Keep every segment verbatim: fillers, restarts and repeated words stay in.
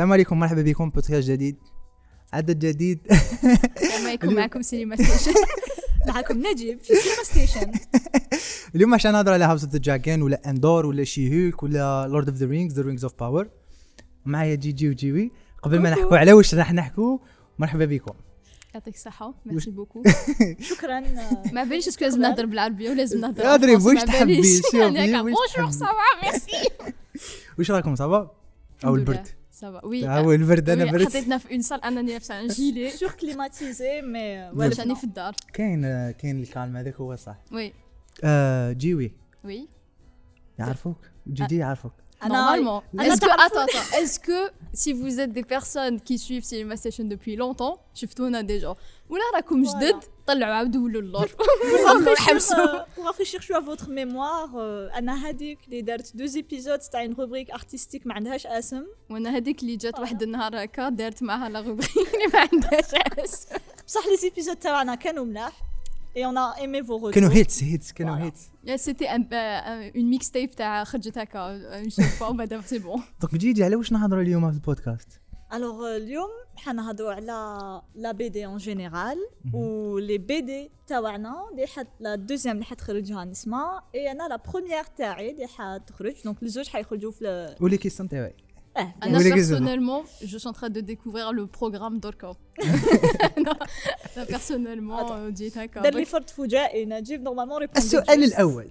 السلام عليكم، مرحبا بكم بودكاست جديد، عدد جديد. السلام عليكم، معكم سينما ستيشن. معكم نجيب في سينما ستيشن. اليوم عشان نهضر على هاوس اوف ذا دراجون ولا اندور ولا شيهوك ولا لورد اوف ذا رينجز ذا رينجز اوف باور. معايا جيجي وجيوي. قبل ما نحكوا على واش راح نحكوا، مرحبا بكم. يعطيك الصحة، ميرسي بوكو. شكرا. ما باليش اسكو لازم نهضر بالعربية ولا لازم نهضر ادري واش تحبي شوفي بونجور صافا ميرسي. واش راكم صافا او البرد؟ صافا وي هو البرد. انا برد، حطيتنا في اون سال انني لابسه ان جيلي سور كليماتيزي مي واش راني في الدار. كاين كاين الكالم هذاك هو صح. وي آه جيوي وي يعرفوك، جيجي يعرفوك. Normalement. Est-ce que, attends, attends, est-ce que si vous êtes des personnes qui suivent Cinema Station depuis longtemps, شفتونا déjà, ولا راكم جدد طلعوا عاودوا ولوا اللور pour rafraîchir شويه votre mémoire. انا هذيك اللي دارت دوز ايبيزود تاع une rubrique artistique ما عندهاش اسم، وانا هذيك اللي جات واحد النهار هكا دارت معها لا rubrique اللي ما عندهاش اسم. بصح لي ايبيزود تاعنا كانوا ملاح et on a aimé vos retours. كانوا هيتس هيتس كانوا هيتس. C'était un, euh, une mixtape تاع خرجت هكا une seule fois وبعدا سي بون. دونك جيجي على واش نهضروا اليوم في البودكاست؟ Alors اليوم حنهضروا على لا بي دي ان جينيرال و لي بي دي تاعنا اللي حت لا دوزيام اللي حتخرجها نسمع اي انا لا بروميير تاعي اللي حتخرج. دونك الزوج حيخرجوا في ولي كيسون تاعي. اه انا personnellement je suis en train de découvrir le programme d'Orca. انا personnellement جيت هكا دار لي فرد فجائي نجيب نورمالمون ريبوندي. السؤال الاول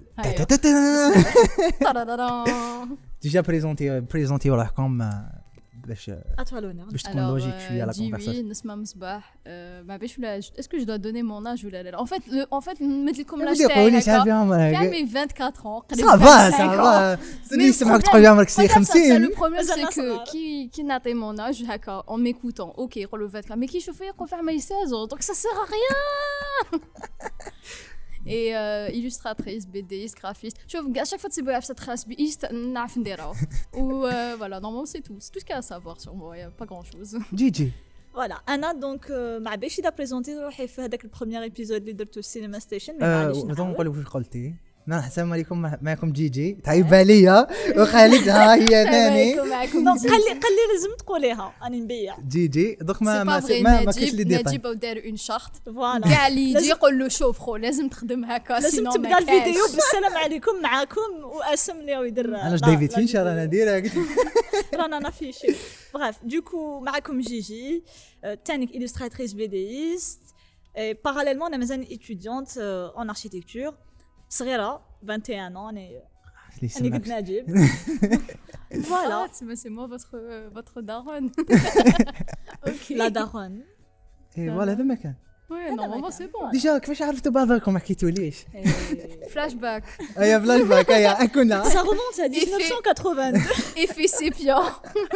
ديجا بريزونتي بريزونتي روحكم باش باش تكون لوجيك شويه لا كونفرساسيون. نسمع مصباح ما باش ولا اسكو جو دو دوني مون اج ولا لا. ان فيت ان فيت نمد لكم لاج تاعي هكا كامل اربعة وعشرين قريب صافا صافا سني يسمعوك تقول عمرك سي خمسين. لو بروبليم سي كو كي كي نعطي مون اج هكا اون ميكوتون اوكي يقولوا أربعة وعشرين مي كي يشوفوا يقول في عمري ستة عشر دونك سا سير ا ريان. et euh, illustratrice, bédéiste, graphiste. شوف à chaque fois que c'est beau cette trace بيست نعرف نديرها. و voilà, normalement c'est tout. C'est tout ce qu'il y a à savoir sur moi, il y a pas grand-chose. جيجي فوالا انا دونك ما باش دا بريزونتي روحي في هذاك البروميير ايبيزود اللي درتو السينما ستيشن. مي معليش نقول واش قلتي. نحن السلام عليكم، معكم جيجي تعيب عليا وخالدها هي ثاني. دونك قال لي قال لي لازم تقوليها راني نبيع جيجي. دوك ما ما ما كاينش لي ديتاي. نجيب ودار اون شارت فوالا كاع اللي يجي يقول له شوف خو لازم تخدم هكا لازم تبدا الفيديو بالسلام عليكم معاكم واسم اللي هو يدير. انا ديفيد فينشر انا نديرها رانا انا في شي. بريف دوكو معكم جيجي تانيك illustratrice bédéiste et parallèlement انا مازال étudiante en architecture صغيره vingt et un ans. انا انا قد نجيب فوالا c'est moi votre votre daronne. اوكي لا دارون. اي فوالا هذا مكان. وي نورمالمون سي بون. ديجا كيفاش عرفتوا بعضكم؟ ما حكيتوليش. فلاش باك. ايا فلاش باك ايا كنا ça remonte à mille neuf cent quatre-vingt-deux. effet sépia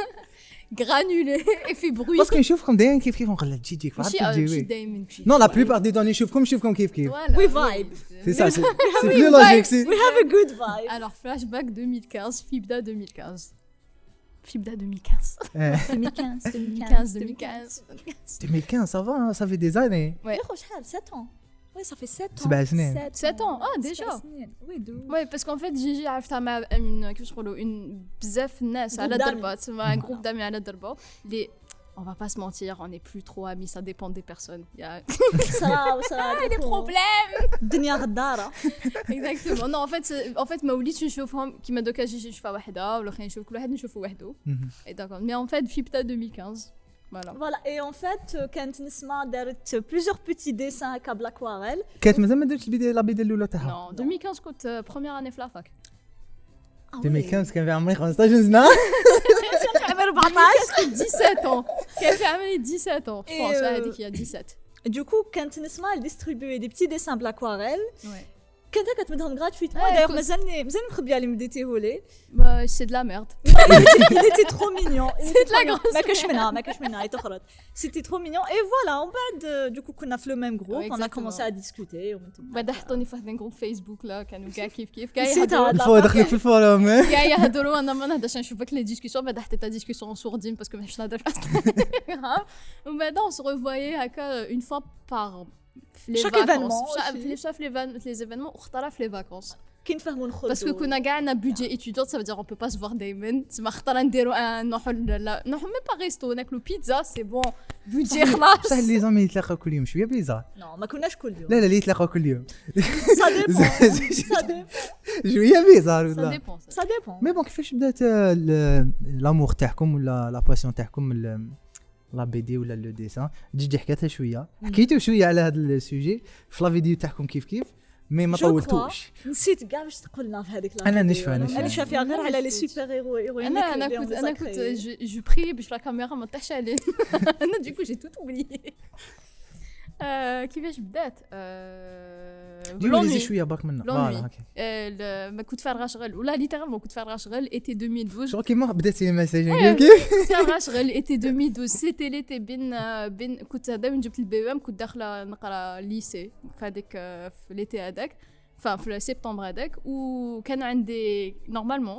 granulé effet bruit. باسكو نشوفكم دايما كيف كيف نقول جيجي كيف ماشي تجيوي. دايما نو لا بلوبار دي دون نشوفكم نشوفكم كيف كيف. we vibe. سي سا سي بلو لوجيك سي. we have a good vibe. alors flashback deux mille quinze Fibda deux mille quinze Fibda deux mille quinze deux mille quinze deux mille quinze deux mille quinze deux mille quinze ça va, ça fait des années. ouais يا شحال sept ans. oui ça fait sept ans. سبع سنين. sept ans ah déjà. oui دو ouais parce qu'en fait Gigi عرفتها مع une كيفاش نقولوا une بزاف الناس على الضربات مع un groupe d'amis على الضربه اللي on va pas se mentir, on n'est plus trop amis, ça dépend des personnes. Il y a ça ça des problèmes. الدنيا غداره. Exactement. Non, en fait, en fait, ما وليتش نشوفهم كيما دوكا جيجي نشوفها وحده ولا خلينا نشوف كل واحد نشوفه وحده. Et d'accord. Mais en fait, Fibda deux mille quinze. Voilà. Voilà. Et en fait, كانت نسمع دارت plusieurs petits dessins هكا بالاكواريل. كانت مازال ما درتش البدايه لا بدايه الاولى تاعها. Non, deux mille quinze كنت première année في لافاك. deux mille quinze كان في عمري خمسطاش سنه. عمري أربعطاش. dix-sept ans. كان في عمري dix-sept ans. Je pense هذيك هي dix-sept. Du coup, كانت نسمع distribuer des petits dessins بالاكواريل. Ouais. كانت كتمدهم gratuitement. D'ailleurs, مازالني مازال مخبيه لي مديتيه لي. Bah, c'est de la merde. Il était trop mignon. C'est de la grosse. ما كاش منها ما كاش منها يتخرج. C'était trop mignon. Et voilà, on بعد du coup كنا في le même groupe, on a commencé à discuter. بعد حطوني في واحد جروب فيسبوك لا كانوا كاع كيف كيف كاع يهضروا. الفو دخلك في الفورم. كاع يهضروا انا ما نهضرش نشوفك لي ديسكوسيون بعد حطيت ديسكوسيون سوردين باسكو ماش نهضر ومن بعد on se revoyait هكا une fois par les chaque événement les événements واختارها في les vacances. كي نفهموا نخرجوا باسكو كنا كاع عندنا بودجي ايتيديون سا فدير اون بو با سو فوار دايما تما خطره نديرو ان نروحو لا نروحو ميم با ريستو ناكلو بيتزا سي بون بودجي خلاص بصح لي زامي يتلاقاو كل يوم شويه بليزار نو ما كناش كل يوم لا لا اللي يتلاقاو كل يوم سا ديبون سا ديبون شويه بليزار سا ولا ديبون سا ديبون مي بون كيفاش بدات ال- لامور تاعكم ولا لا باسيون تاعكم ال- لا بي دي ولا لو ديسان جيجي حكاتها شويه حكيتو شويه على هذا السوجي في لا فيديو تاعكم كيف كيف مي ما جو طولتوش نسيت كاع واش تقولنا في هذيك أنا نشفى- نشفى. انا شافيها غير على لي سوبر هيرو هيروين انا انا كنت انا كنت جو بري باش لا كاميرا ما طيحش عليه انا ديكو جي توت اوبليي كيفاش بدات ديري شويه برك منا لونوي. فوالا هكا آه، ما كنت فارغه شغل ولا ليترالمون كنت فارغه شغل ايتي ألفين واثناشر شغل كيما بداتي المساج أيوة. كيف كنت فارغه شغل ايتي ألفين واثناشر سيتي ليتي بين آه، بين كنت هذا من جبت البي ام كنت داخله نقرا ليسي في هذيك آه، في ليتي هذاك enfin في سبتمبر هذاك وكان عندي نورمالمون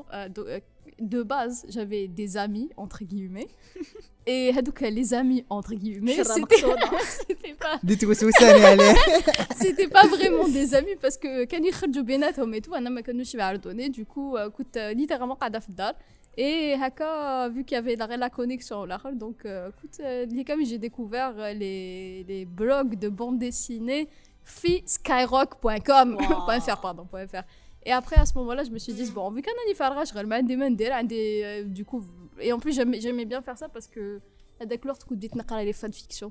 de base j'avais des amis entre guillemets et هذوك les amis entre guillemets شرا c'était مقصودة. c'était pas ديت وسوساني عليه c'était pas vraiment des amis parce que كانوا يخرجوا بيناتهم et tout انا ما كانوش يعرضوني du coup euh, كنت littéralement قاعده في الدار et هكا vu qu'il y avait la, la connexion l'akhar donc euh, écoute euh, comme j'ai découvert euh, les les blogs de bande dessinée fi skyrock point com Wow. .fr pardon .fr et après à ce moment-là je me suis dit bon vu qu'un ani farga شغل ما عندي ما ندير عندي euh, du coup et en plus j'aimais, j'aimais bien faire ça parce que هذاك الوقت كنت بديت نقرا les fanfictions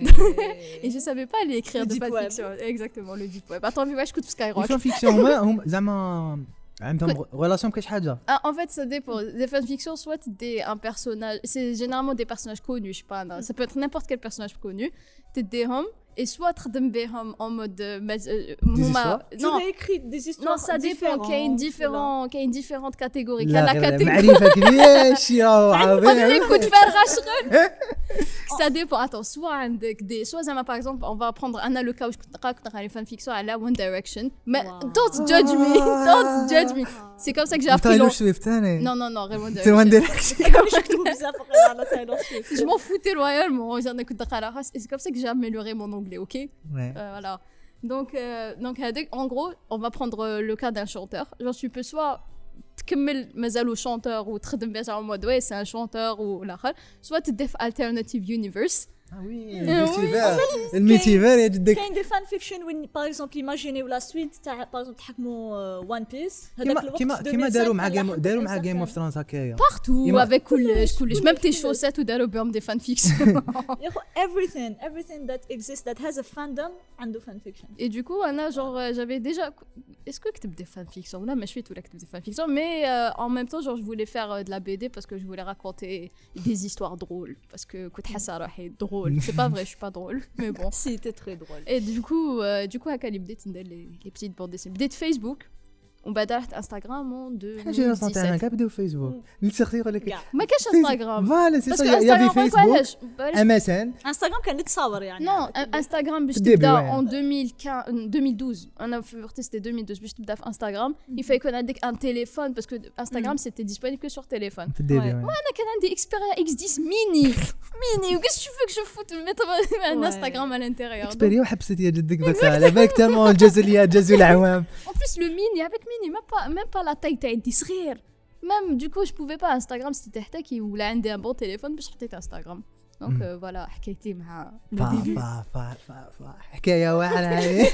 et je savais pas aller écrire Le de deep web. fanfiction exactement le deep web attends واش كنت في سكايروك الفان فيكسيون هما هم زعما عندهم ريلاسيون بكاش حاجه Ah, en fait, ça dépend. Des fanfictions, soit t'es un personnage, c'est généralement des personnages connus, je sais pas, non, ça peut être n'importe quel personnage connu. T'es des hommes, et soit t'es des hommes en mode. euh, mais, euh, Des huma- histoires Tu Non, réécris des histoires non, ça dépend. Qu'il y a une, différentes, différent, qu'il y a une différente catégorie. Qu'il y لا a la غير catégorie. معرفه كبير شي راهو عظيم Écoute, faire rachel. Ça dépend. Attends, soit عندك des, soit Zama, par exemple, on va prendre un le cas où je connais les fanfictions à la One Direction. Mais Wow. don't judge me, don't judge me. C'est comme ça que j'ai appris. تايلور l'an- سويفت ثاني Non, non, non, One تي وان Direction. ديريكشن كانوا يكتبوا بزاف غير على تايلور سويفت Je m'en foutais royalement. J'en ai écouté à la race. Et c'est comme ça que j'ai amélioré mon anglais, ok? Euh, voilà. Donc, euh, donc euh, en gros, on va prendre euh, le cas d'un chanteur. Genre, tu peux soit تكمل مازالو chanteur ou تخدم بها en mode ouais c'est un chanteur ou l'akhar soit تدف alternative universe اه وي Oui. الميتيفير الميتيفير يا جدك كاين دي فان فيكشن وين باغ اكزومبل ايماجينيو لا سويت تاع باغ اكزومبل تحكموا وان بيس كيما كيما كيما داروا مع جيم داروا مع جيم اوف ثرونز هكايا partout Ima- avec كلش كلش même tes chaussettes ou داروا بهم des fanfictions يا خو everything everything that exists that has a fandom عنده فان فيكشن et du coup Anna genre euh, j'avais déjà est-ce que كتب des fanfictions là mais je fais tout là كتب des fanfictions mais euh, en même temps genre je voulais faire euh, de la B D parce que je voulais raconter des histoires drôles parce que كنت حاسه روحي drôle c'est pas vrai je suis pas drôle mais bon سي تي تري درول et du coup euh, du coup هكا اللي بديت ندير les, les petites bandes dessinées بديت فيسبوك ومن بعد رحت انستغرام en حاجه تاعنا ألفين وسبعطاش كاع بداو فيسبوك نسختي يقول لك كاع ما كاش انستغرام فوالا سي باسكو سا يا في انستغرام فيسبوك علاش ام اس ان انستغرام كان يتصور يعني نو انستغرام باش الديبي، تبدا ouais. en ألفين وخمسطاش ألفين واتناش انا في وقت سيتي ألفين واتناش باش تبدا في انستغرام il faut يكون عندك ان تليفون باسكو انستغرام سيتي ديسپونيبل que sur téléphone في الديبي Ouais. وي. انا كان عندي اكسبيريا اكس عشرة ميني ميني وكاش tu veux que je foute mettre un Ouais. Instagram à l'intérieur Donc, اكسبيريا وحبست يا جدك بس على بالك تالمون جزليات جزو العوام en plus le mini avec mini même pas même pas la taille تاع يدي صغير même du coup je pouvais pas Instagram c'était تحتاجي ولا عندي un bon téléphone باش حطيت انستغرام دونك Mm. فوالا حكايتي مع le فا début. فا فا فا فا حكايه واعره هذه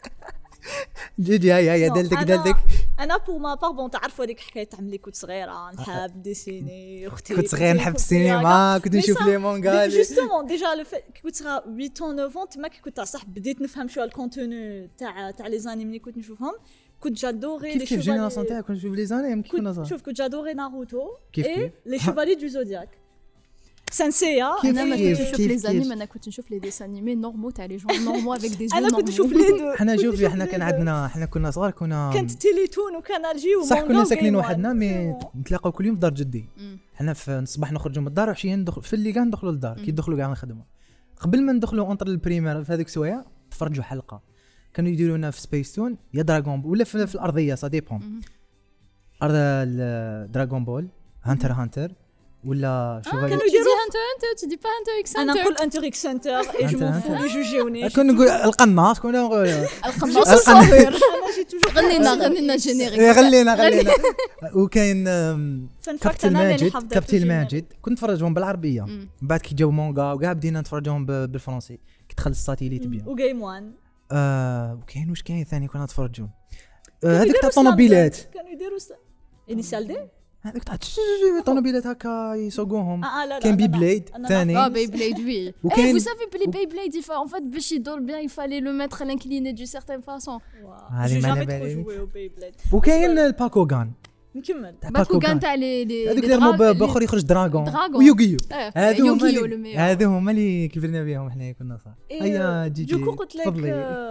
جيجي هيا هيا Non, دلتك أنا- دلتك انا بور ما بار بون تعرفوا هذيك حكايه تاع ملي كنت صغيره نحب ديسيني اختي كنت صغير نحب السينما كنت نشوف لي مونغا جوستومون ديجا لو في كي كنت صغيره ثمانية أو تسعة تما كي كنت صح بديت نفهم شويه الكونتوني تاع تاع لي زانيمي اللي كنت نشوفهم كنت جادوري كيف كيف جينيراسيون تاعك كنت نشوف لي زانيم كيف كنا كنت صغار شوف كنت جادوري ناروتو كيف اي كيف؟ لي شيفالي دو زودياك سانسيا كيف انا ما كيف كنتش نشوف كيف لي كيف. زانيم انا كنت نشوف لي ديس انيمي نورمال تاع لي جون نورمال افيك دي انا كنت نشوف لي دو حنا كنت شوفي نشوف حنا لي كان دو. عندنا حنا كنا صغار كنا كانت تيليتون وكانال جي صح ومونغا كنا ساكنين وجيم وحدنا وان. مي نتلاقاو كل يوم في دار جدي مم. حنا في الصباح نخرجوا من الدار وعشيه ندخل في اللي كاع ندخلوا للدار كي يدخلوا كاع الخدمه قبل ما ندخلوا اونتر البريمير في هذيك السوايع تفرجوا حلقه كانوا يديروا لنا في سبيس تون يا دراغون بول ولا في, في الارضيه سا ديبون مم. ارض دراغون بول هانتر هانتر ولا شوفالي كانوا يديروا Hunter Hunter, tu dis pas Hunter x انا Hunter. نقول انتر اكس سنتر اي جو مون فو يجوجيوني كون نقول القناص كون نقول القناص القناص. صغير. انا جي توجور غنينا غنينا جينيريك. إيه، غلينا غلينا وكاين آم، فان فاكت كابتن انا اللي ماجد حافظه كابتن ماجد كنت نتفرجهم بالعربيه مم. من بعد كي جاو مونغا وكاع بدينا نتفرجهم ب- بالفرنسي كي دخل الساتيليت بيان وجيم وان آه وكاين واش كاين ثاني كنا نتفرجوا آه، هذيك تاع الطوموبيلات كانوا يديروا انيسيال دي هذيك تاع الطوموبيلات هكا يسوقوهم اه لا لا كاين لا، بي لا. بليد أنا ثاني Ah, Beyblade, oui. Eh, وكاين- vous savez, les Beyblade, il fa- en fait, باش يدور bien, il fallait le mettre à l'incliné d'une certaine façon. هذه جي ما جامي على ترو بالي. جوي او بيبليد وكاين الباكوغان نكمل تاع Bakugan, t'as les les هذوك les اللي يرموا dra- ب- les- باخر يخرج دراغون دراغون. ويوغيو Eh, هذو هما Yu-Gi-Oh, le اللي meilleur. هذو هما اللي كبرنا بهم حنا كنا صح هيا جي جي دوكو قلت لك تفضلي.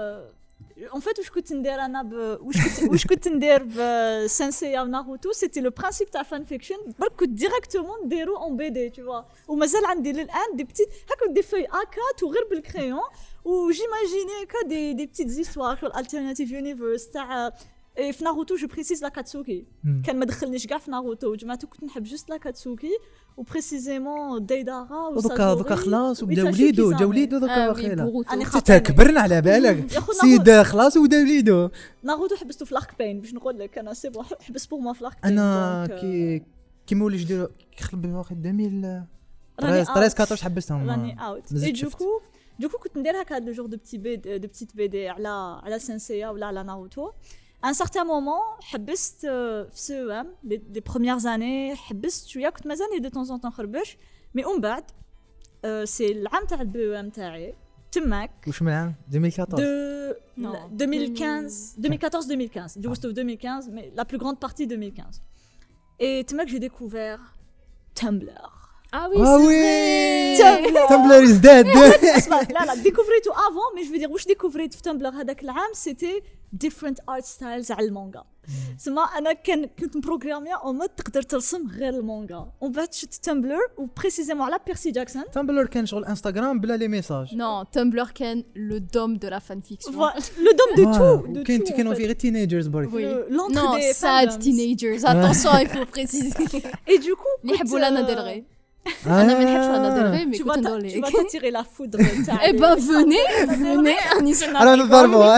اون فيت واش كنت ندير انا ب... واش كنت واش كنت ندير بسانسيا وناروتو سيتي لو برانسيب تاع فان فيكشن برك كنت ديريكتومون نديرو اون بي دي تو ومازال عندي للان دي بتيت هكا دي فوي اكات وغير بالكريون وجيماجيني هكا دي دي بتيت زيستوار في الالتيرناتيف يونيفرس تاع إيه، في ناروتو جو بريسيز لا كاتسوكي مم. كان ما دخلنيش كاع في ناروتو وجماعته كنت نحب جوست لا كاتسوكي وبريسيزيمون دايدارا ودوكا دوكا خلاص وبدا ويتاشي وليدو كيزامي. جا وليدو Ah دوكا oui, واخيلا Boruto. أنا Ah, خاطر- كبرنا على بالك يا خونا سيد خلاص ودا وليدو ناروتو حبستو في لاك بين باش نقول لك انا سي بون حبس بور ما في لاك بين انا دونك، كي كيما ولي جديرو خلب واخد ألفين راني وثلاثة عشر out. أربعطاش حبستهم راني اوت مازلت اي شفت. دوكو دوكو كنت ندير هكا دو جور دو بتي بي دو بتيت بي دي على على سانسيا ولا على ناروتو ان سارتان مومون حبست آه، في سو ام لي بروميير زاني حبست شويه كنت مازالني دو طون طون نخربش مي ومن بعد آه، سي العام تاع البي ام تاعي تماك واش من العام ألفين وأربعطاش de Non. deux mille quinze, deux mille quatorze deux mille quinze, du coup c'était deux mille quinze, mais la plus grande partie deux mille quinze. Et c'est là que j'ai découvert Tumblr. Ah oui, Ah c'est oui. vrai. Tumblr. تمبلر از ديد اسمع، لا لا découvert avant, mais je veux dire واش découvert في Tumblr هذاك العام c'était different art styles على المانجا. سما انا كان كنت مبروغرامي اون مود تقدر ترسم غير المانجا ومن بعد شفت تمبلر وبريسيزيمون على بيرسي جاكسون تمبلر كان شغل انستغرام بلا لي ميساج Non, Tumblr كان le dôme de la fanfiction. لو دوم دو تو دو كاين تو كانوا في غير تينيجرز برك Oui. l'entre Non, des sad fandoms. teenagers. Attention, il faut préciser. Et du coup اللي يحبوا لانا ديل ري. آه. انا ما نحبش لانا ديل ري مي tu كنت vas ندور t'a- tu ليه. vas t'attirer la foudre Eh ben venez, venez, راني سنة انا نضربوا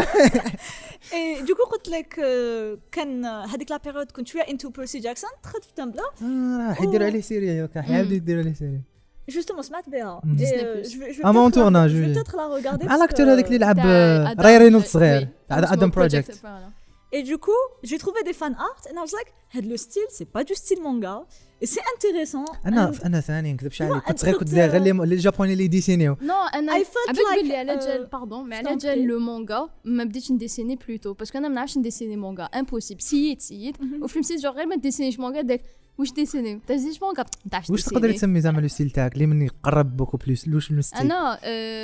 Et du coup قلت لك آه، كان هذيك لا بيريود كنت شويه انتو بيرسي جاكسون دخلت في تمبلر راح يديروا عليه سيري كان حيبدا يديروا عليه سيري جوستومون سمعت بها Mm. Disney Et, euh, Plus. je vais- je vais Ah, mais en peut-être la- tournage, je vais oui. peut-être la regarder مع parce الاكتور que- هذاك اللي يلعب تاع Adam- راي رينولدز صغير oui. تاع Cosmo ادم بروجكت Project, voilà. Et du coup, j'ai trouvé des fan art and I was like, had le style, c'est pas du style manga. Et c'est intéressant. انا and انا ثاني نكذبش عليك أنت كنت غير كنت قلت- غير لي لي جابوني اللي ديسينيو Non, انا I felt عبالك like, بلي على euh, جال باردون مي على je t'en جال prie. لو مانغا ما بديتش نديسيني بلوتو باسكو انا ما نعرفش نديسيني مانغا امبوسيبل سييت سييت وفي المسيت جو غير ما ديسينيش مانغا داك واش ديسيني تديسينيش مانغا ما تعرفش واش تقدري ديسيني تسمي زعما لو ستيل تاعك اللي من يقرب بوكو بلوس لوش من ستيل انا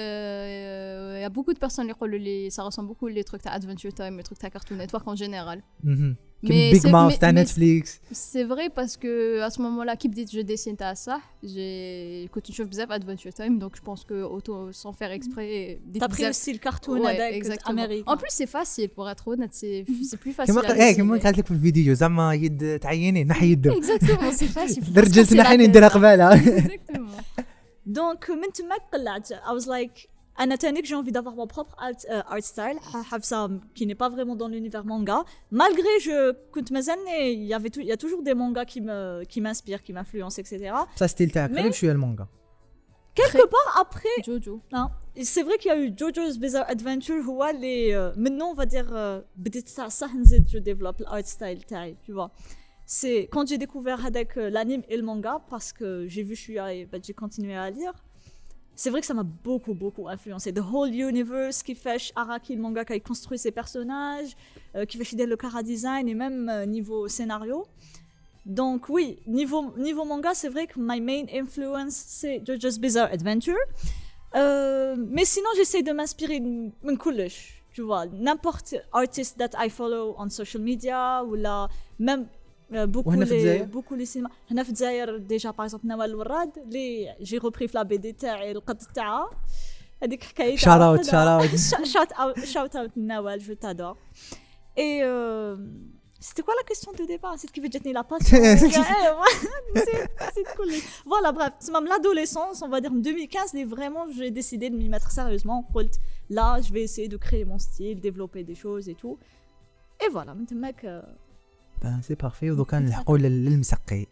il y a beaucoup de personnes اللي يقولوا لي ça ressemble beaucoup les trucs تاع Adventure Time les trucs تاع Cartoon Network en général كيما Mais بيج c'est- ماوث mais- تاع mais- نتفليكس c'est vrai parce que à ce moment-là qui بديت je dessine تاع صح j'ai كنت نشوف بزاف Adventure Time donc je pense que auto sans faire exprès t'as pris le style cartoon Ouais, avec exactement. Amérique. En plus, c'est facile pour être honnête, c'est c'est plus facile. كيما à ايه كيما dessiner. قالت لك في الفيديو زعما يد تعيني نحي يده Exactement, c'est facile. faut pas se رجلت casser la نحيني tête. نديرها قبالها Exactement. Donc, من تما قلعت. I was like, أنا تانيك j'ai envie d'avoir mon propre art, euh, art style. حافظة qui n'est pas vraiment dans l'univers manga. Malgré je كنت مازالني il y avait tout- il y a toujours des mangas qui me qui m'inspirent, qui m'influencent, et cetera. بصح ستيل تاعك Mais- قريب شويه المانجا Quelque part après, Jojo. hein, c'est vrai qu'il y a eu JoJo's Bizarre Adventure هو اللي euh, maintenant on va dire euh, بديت تاع صح نزيد je développe l'art style تاعي, tu vois. C'est quand j'ai découvert avec euh, l'anime et le manga parce que j'ai vu je suis allée- bah, j'ai continué à lire. C'est vrai que ça m'a beaucoup beaucoup influencé. The whole universe qui fait Araki le manga qui a construit ses personnages, euh, qui fait Shidel le chara design et même euh, niveau scénario. Donc oui, niveau niveau manga, c'est vrai que my main influence c'est JoJo's Bizarre Adventure. Euh, mais sinon, j'essaie de m'inspirer de من كلش, tu vois, n'importe artist that I follow on social media ou là même euh, beaucoup وهنا في les الجزائر؟ beaucoup les cinémas. هنا في الجزائر déjà par exemple نوال الوراد اللي j'ai repris في la بي دي تاعي القط تاعها هذيك حكايه Shout out, shout out. shout out shout out نوال je t'adore. Et euh, C'était quoi la question de départ? C'est ce qui veut dire la passion. C'est cool. Voilà, bref, c'est même l'adolescence, on va dire en deux mille quinze, mais vraiment, j'ai décidé de m'y mettre sérieusement. Là, je vais essayer de créer mon style, développer des choses et tout. Et voilà, maintenant mec. Ben, c'est parfait. ودوكا نلحقوا للمسقي.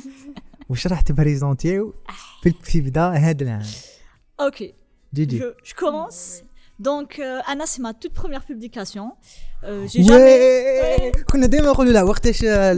واش راح تبريزونتيو في في بدا هذا العام؟ Ok. جي Je, je commence. Donc, euh, Anna, c'est ma toute première publication. Euh, j'ai وي jamais. كنا دائما نقولوا لا وقتاش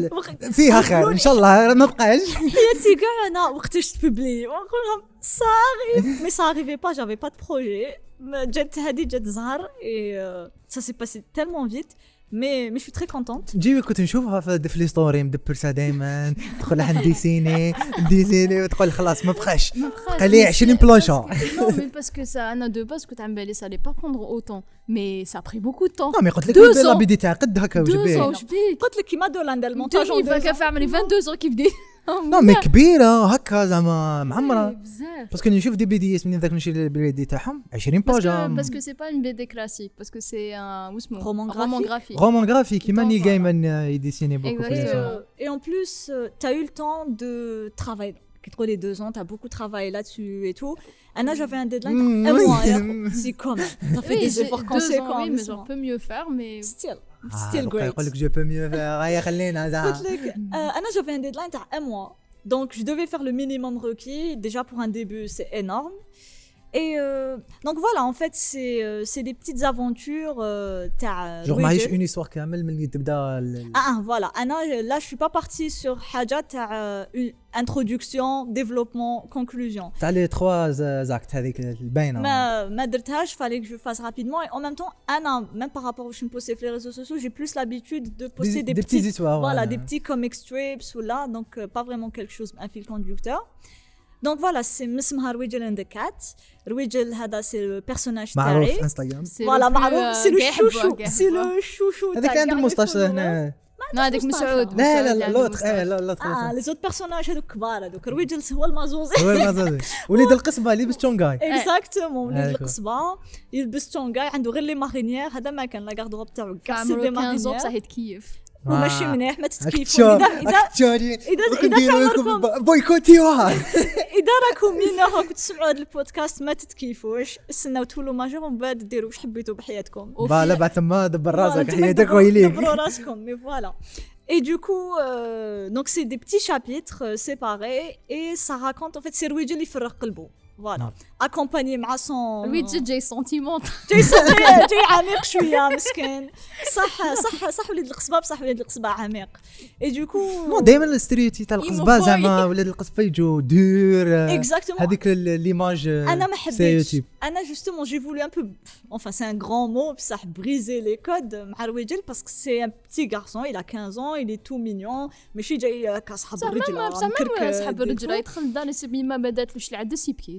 فيها خير ان شاء الله ما بقاش. حياتي كاع أنا وقتاش تببلي ونقول لهم ça arrive. Mais ça arrivait pas, j'avais pas de projet. جات هذه جات زهر et euh, ça s'est passé tellement vite. Mais, mais je suis très contente. جيبي كنت نشوفها في في ستوري مدبرسه دائما تدخل عند ديسيني ديسيني وتقول خلاص ما بقاش بقى لي عشرين بلانشا. Non, mais parce que ça, Anna, de base, que t'as ça allait pas prendre autant. Mais ça a pris beaucoup de temps. non mais قلت لك Deux لا ans. بديت تعقد هكا Deux وجبيه. ans, je dis. قلت لك كيما دولا ندير المونتاج deux mille vingt, fait vingt-deux ans qu'il fait. نو مي كبيره هكا زعما معمره بزاف. باسكو نشوف دي بي دي اس من ذاك نشوف البي دي تاعهم عشرين باجا. Parce que c'est pas une B D classique, parce que c'est un Roman roman graphique. graphique. رومان غرافي كيما نيل Voilà. جايمان يديسيني بوكو Exactement. Et, بليس. euh, et en plus, euh, tu as eu le temps de travailler. Entre les deux ans, tu as beaucoup travaillé là-dessus et tout. Anna, j'avais un deadline. Mm. Un mois. Si, quand même. Tu as fait Oui, des j'ai efforts deux ans, conséquents. oui, mais doucement. j'en peux mieux faire, mais Still. Ah, Still great. يقول لك جو بو ميو هيا خلينا قلت زعما. لك, euh, Anna, j'avais un deadline de un mois. Donc, je devais faire le minimum requis. Déjà, pour un début, c'est énorme. Et euh, donc voilà, en fait, c'est euh, c'est des petites aventures. Euh, t'as جو Louis معيش Vuitton. اون histoire كامل من اللي تبدا ال- Ah, ah, voilà. Anna, là, je suis pas partie sur Haja, t'as euh, une introduction, développement, conclusion. تاع لي تخوا زاكت هذيك الباينه. ما ما درتهاش, fallait que je fasse rapidement. Et en même temps, Anna, même par rapport où je me postais sur les réseaux sociaux, j'ai plus l'habitude de poster des, des, des petites histoires. voilà, des petits comic strips ou là, donc euh, pas vraiment quelque chose, un fil conducteur. Donc voilà, c'est Mismha Rwijel and the Cat. Rwijel, hada, c'est le personnage معروف تاعي. في انستغرام. c'est Voilà, le plus, معروف, euh, c'est le كاع chouchou, يحبوه، كاع c'est يحبوه. le chouchou. هذاك تاع عنده كاع مستاش الفلوس. هنا. Non, avec مسعود. Ah. لا لا مسعود لا عنده لوط مستوى. لا لا اه لي زوت بيرسوناج هذوك كبار هذوك رويجل هو المازوزي. هو المازوزي وليد القصبه لبس تشونغاي. اكزاكتومون وليد هذاك هو. القصبه يلبس تونغاي عنده غير لي مارينيير هذا ما كان لا غاردروب تاعو كاع سي عمره دي خمسة ans مارينيير بصح يتكيف. وماشي مليح ما تتكيفوا اكتشار اذا اذا اكتشارين إذا- إذا تعمركم- بويكوتيوها. اذا راكم مينور راكم تسمعوا هذا البودكاست ما تتكيفوش استناو تولوا ماجور ومن بعد ديروا واش حبيتوا بحياتكم. فوالا بعد ثم دبر راسك Voilà, حياتك دبروا- ويليك. دبروا راسكم, mais voilà. Et du coup, euh, donc c'est des petits chapitres euh, séparés et ça raconte en fait c'est Rwijel اللي يفرغ قلبه. Voilà. نعم. Accompagné مع son Lui, tu جاي sentiment. جاي جاي جاي عميق شويه مسكين. صح صح صح وليد القصبه بصح وليد القصبه عميق. Et du coup نو دائما الستريوتي تاع القصبه يمو زعما ولاد القصبه يجوا دور. Exactement. هذيك ليماج انا ما حبيتش. ستيريوتيب. انا justement j'ai voulu un peu enfin c'est un grand mot بصح briser les codes مع رويجل parce que c'est un petit garçon, il a quinze ans, il est tout mignon ماشي جاي كاصحاب بصح الرجل ما بصح ما صاحب الرجل يدخل لدار يسمي ما بداتلوش العدس يبكي.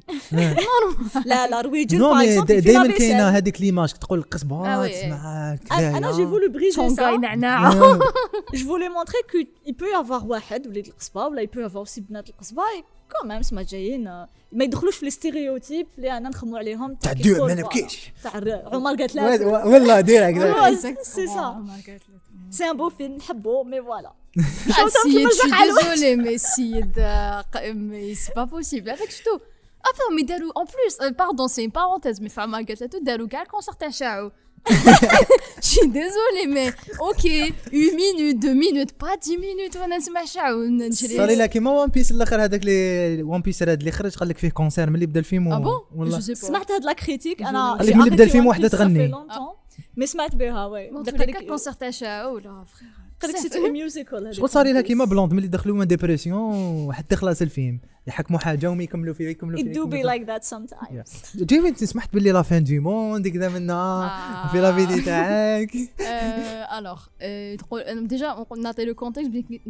لا لا رويجل نو par مي exemple il fait la دائما vaisselle. كاينه هذيك ليماج تقول آه القصبه وي. تسمع انا أنا j'ai voulu briser شونغاي ça. نعناع. Je voulais montrer qu'il peut y avoir واحد وليد القصبه ولا il peut y avoir aussi بنات القصبه quand même سما جايين ما يدخلوش في الستيريوتيب اللي انا نخمو عليهم تاع كيف دور يقول ما بقى. نبكيش. تاع الر- عمر قالت لا والله ديريكت. Ouais, c'est ça. C'est un beau film نحبو mais voilà. Ah, si, je suis désolée, mais si, mais c'est pas possible. Avec tout. Enfin, mais Dalou, en plus, euh, pardon, c'est une parenthèse, mais Fama Gatlato, Dalou, quel concert à Chao? Je suis désolée, mais ok, une minute, deux minutes, pas dix minutes, on a ce machin. صار لها كيما وان بيس الاخر هذاك اللي وان بيس هذا اللي خرج قال لك فيه كونسير ملي بدا الفيلم. Ah bon? والله Je sais pas. سمعت هاد لا كريتيك انا قال لك ملي بدا الفيلم وحده تغني. مي سمعت بها وي Bon, tous قال les لك quatre concerts à Chao, là, frère. قال لك سيتي ميوزيكال شغل صار لها كيما بلوند ملي دخلوا من ديبرسيون وحتى خلاص الفيلم يحكموا حاجه وما يكملوا فيه يكملوا it فيه. do be like that sometimes. جيمي سمحت باللي لا فان دو موند كذا منا Ah. في لا فيديو تاعك. Euh, alors, euh, تقول- euh, déjà, on a le contexte,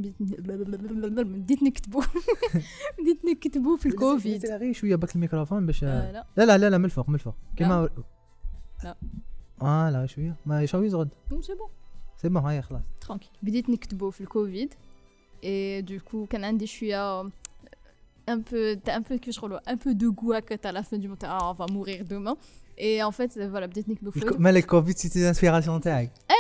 بديت نكتبوا بديت نكتبوا في الكوفيد. غير شويه باك الميكروفون باش. آه، لا لا لا لا لا من الفوق من الفوق كيما. لا. اه لا شويه ما شويه زغد سي بون. سي بون هاي خلاص. Tranquille. بديت نكتبوا في الكوفيد et du coup كان عندي شويه un peu un peu que je relou un peu de goût à la fin du mois. Ah, on va mourir demain et en fait voilà بديت نكتبوا في مالك كوفيد سيتي انسبيراسيون تاعك. ايه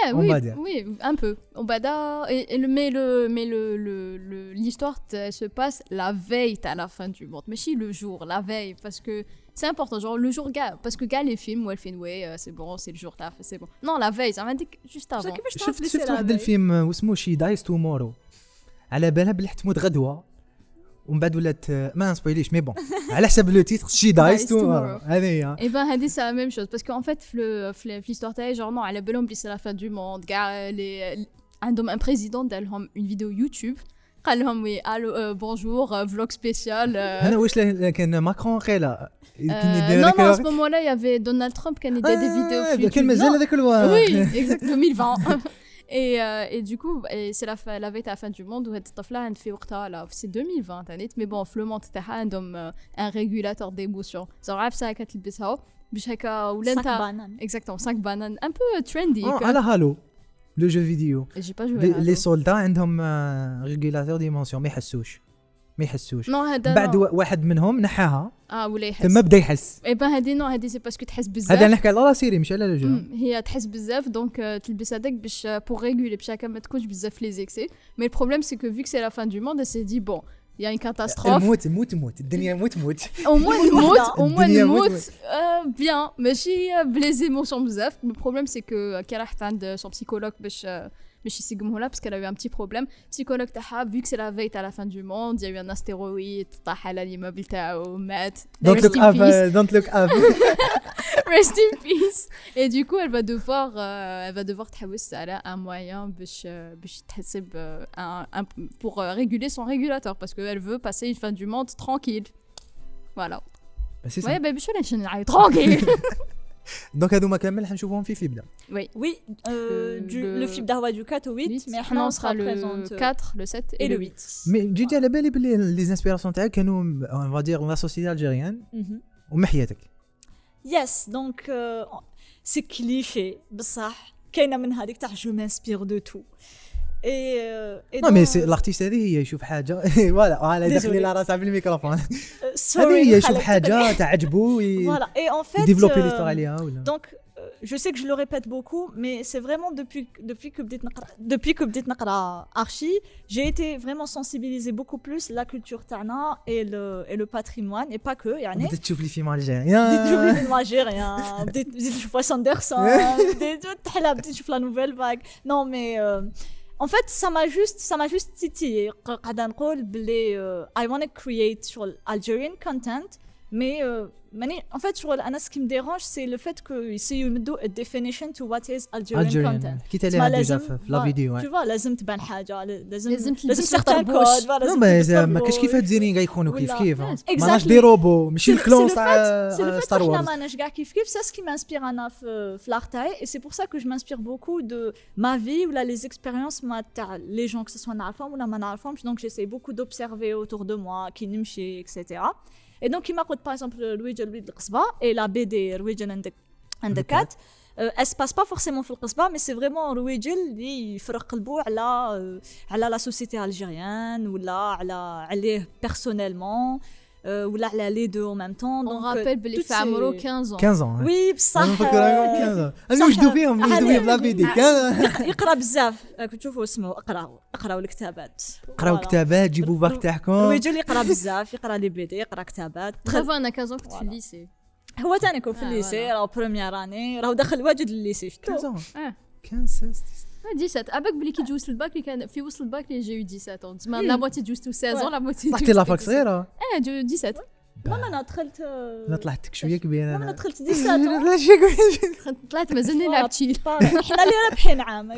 Ouais, On oui, va dire. oui, un peu. On va dire, et, et le, mais le, mais le, le, le- l'histoire t- se passe la veille à la fin du monde. Mais si le jour, la veille, parce que c'est important. Genre le jour, gars, parce que gars, les films où elle fait, ouais, euh, c'est bon, c'est le jour, taf, c'est bon. Non, la veille, ça m'a dit que juste بصح avant. كيفاش تعرف شفت لي شفت سي واحد لا الفيلم واسمه شي دايز تومورو، على بالها بلي حتموت غدوه ومن بعد ولات ما نسبويليش مي بون على حسب لو تيتر شي دايز Dies تومورو tomorrow. هذه هي. Et ben, Hadi, c'est la même chose. Parce qu'en fait, le- le- l'histoire, t'as genre, non, elle a belle c'est la fin du monde. Gars, les, عندهم un président, d'Alhom, une vidéo YouTube. قال لهم oui, allô, euh, bonjour, euh, vlog spécial. euh, انا واش له- كان ماكرون قيله كان euh, يدير non, هذاك non, à الوقت. ce moment-là, il y avait Donald Trump qui a des, des vidéos آه، sur كان YouTube. مازال Non, هذاك الوقت. oui, exact, deux mille vingt. et, euh, et du coup, et c'est la, fin- la veille à la fin du monde où cette là elle fait وقتها là, c'est deux mille vingt, hein, mais bon, في le monde تاعها عندهم euh, un régulateur d'émotion. genre عارف ساعه كتلبسها باش هكا ولا ساك انت بانان exactement cinq bananes un peu trendy. آه، quoi. على هالو لو جو فيديو Et j'ai pas joué. لي à لي Halo. سولدا عندهم ريغولاتور ديمونسيون ما يحسوش ما يحسوش. non هذا بعد non. وا- واحد منهم نحاها اه ولا يحس. ثم بدا يحس. اي بان هادي نو هادي سي باسكو تحس بزاف. هذا نحكي على لا سيري مش على لو جو. مم، هي تحس بزاف دونك آه، تلبس هذاك باش بور ريغولي باش هكا ما تكونش بزاف لي زيكسي. مي البروبليم سي كو فيك سي لا فان دو موند سي دي بون يا ان كاتاستروف الموت موت موت الدنيا موت موت. au moins نموت au moins الدنيا موت نموت آه، bien ماشي بلي زيموسيون بزاف. le problème c'est que كي راحت عند son psychologue باش آه، باش يسقمه لها parce qu'elle a eu un petit problème. psychologue تاعها vu que c'est la veille à la fin du monde il y a eu un astéroïde طاح على l'immeuble تاعو مات. دونت Rest لوك in اب peace. دونت لوك اب. Rest in peace. Et du coup, elle va devoir, euh, elle va devoir تحوس على un moyen باش باش تحسب euh, un, un, pour euh, réguler son régulateur parce qu'elle veut passer une fin du monde tranquille. Voilà. بس Ouais, bah باش ولا نعيط tranquille. دونك هذوما كامل حنشوفهم في فيبدا. Oui. Oui, euh, Le- du, le- le film d'Arwa du quatre au huit, huit. mais Maintenant, Hana on sera le présente euh, quatre, le sept et, et le le huit. huit. مي جيت على بالي بلي لي انسبيراسيون تاعك كانوا اون فادير لا سوسيتي الجيريان Mhm. ومحياتك. Yes, donc euh, c'est cliché, بصح كاينه من هذيك تاع جو مانسبير دو تو. Et, euh, et نو مي dans- سي لارتيست هذه هي يشوف حاجه فوالا على Désolé. داخلي لا راسها بالميكروفون. euh, sorry, هذه هي يشوف خالد. حاجه تعجبو Voilà, et en fait يديفلوبي euh, ليستوار عليها ولا. donc euh, je sais que je le répète beaucoup, mais c'est vraiment depuis depuis que بديت نقرا depuis que بديت نقرا archi, j'ai été vraiment sensibilisée beaucoup plus la culture تاعنا et le et le patrimoine et pas que يعني. بدات تشوف لي فيلم بديت نشوف الجيريان. لي فيلم الجيريان بديت بديت نشوف واس اندرسون بديت تحلى بديت نشوف لا نوفيل فاغ نو مي en fait ça m'a juste ça m'a juste titillé قاعده نقول بلي uh, I want to create شغل Algerian content mais uh, ماني en fait شغل انا ce qui me dérange c'est le fait que يسيو يمدوا a definition to what is Algerian الجيريان content. حكيت تسمى عليها ديجا لازم في لا فيديو. tu vois لازم تبان حاجه لازم لازم تلبس لازم سيغ certains طربوش. codes voilà نو لازم ما ما تلبس كاش كيف طربوش. هاد الزيرين يكونوا كيف ولا- كيف. Exactly. ماناش دي روبو ماشي C'est le- الكلون c'est le تاع C'est le fait ستار que وورز. je manage kif kif, c'est ce qui m'inspire Anna في l'artaï et c'est pour ça que je m'inspire beaucoup de ma vie ou là les expériences ma تاع les gens que ce soit نعرفهم ولا ما نعرفهمش donc j'essaie beaucoup d'observer autour de moi qui نمشي et cetera. Et donc il m'a coûté par exemple Louis Louis القصبة et la B D Louis and the and the cat. Euh, elle se passe pas forcément في القصبة mais c'est vraiment رويجل اللي يفرق قلبه على على la société algérienne ولا على عليه personnellement euh, ولا على les deux en même temps. On donc rappelle بلي toutes في عمره ces- quinze ans. خمسة ans. وي بصح انا نفكر آه، خمسة. انا وجدوا فيهم وجدوا فيهم لا فيديو. يقرا بزاف راكم تشوفوا اسمه اقراو اقراو الكتابات قراو كتابات جيبوا باك تاعكم. رويجل يقرا بزاف يقرا لي بي دي يقرا كتابات Bravo, on a quinze ans que tu fais Voilà. le lycée. هو تاني كون في آه، الليسي voilà. راهو بروميير اني راهو داخل واجد الليسي خمسة شفتو ans. آه. خمسة Ah, dix-sept. Avec بلي كي جوزت الباك اللي كان في وسط الباك اللي j'ai eu dix-sept ans. تسمى la moitié جوزتو seize ans, la moitié طلعتي لافاك جوزتو صغيرة. اه جو dix-sept. ماما انا دخلت انا طلعت شويه كبير ماما انا انا. دخلت ديسات لا شي كبير. طلعت مازلني لعبت شي. حنا اللي رابحين عام